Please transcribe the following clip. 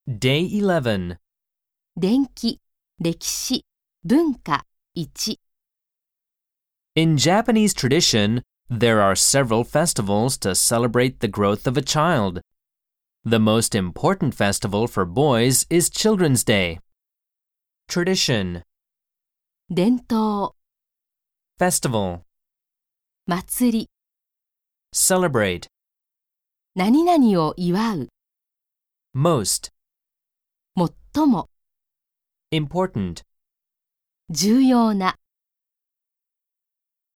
Day 11. 伝記、歴史、文化、1。 In Japanese tradition, there are several festivals to celebrate the growth of a child. The most important festival for boys is Children's Day. Tradition, 伝統、 festival, 祭り、 celebrate, 何々を祝う、 most, 最も、 important. 重要な。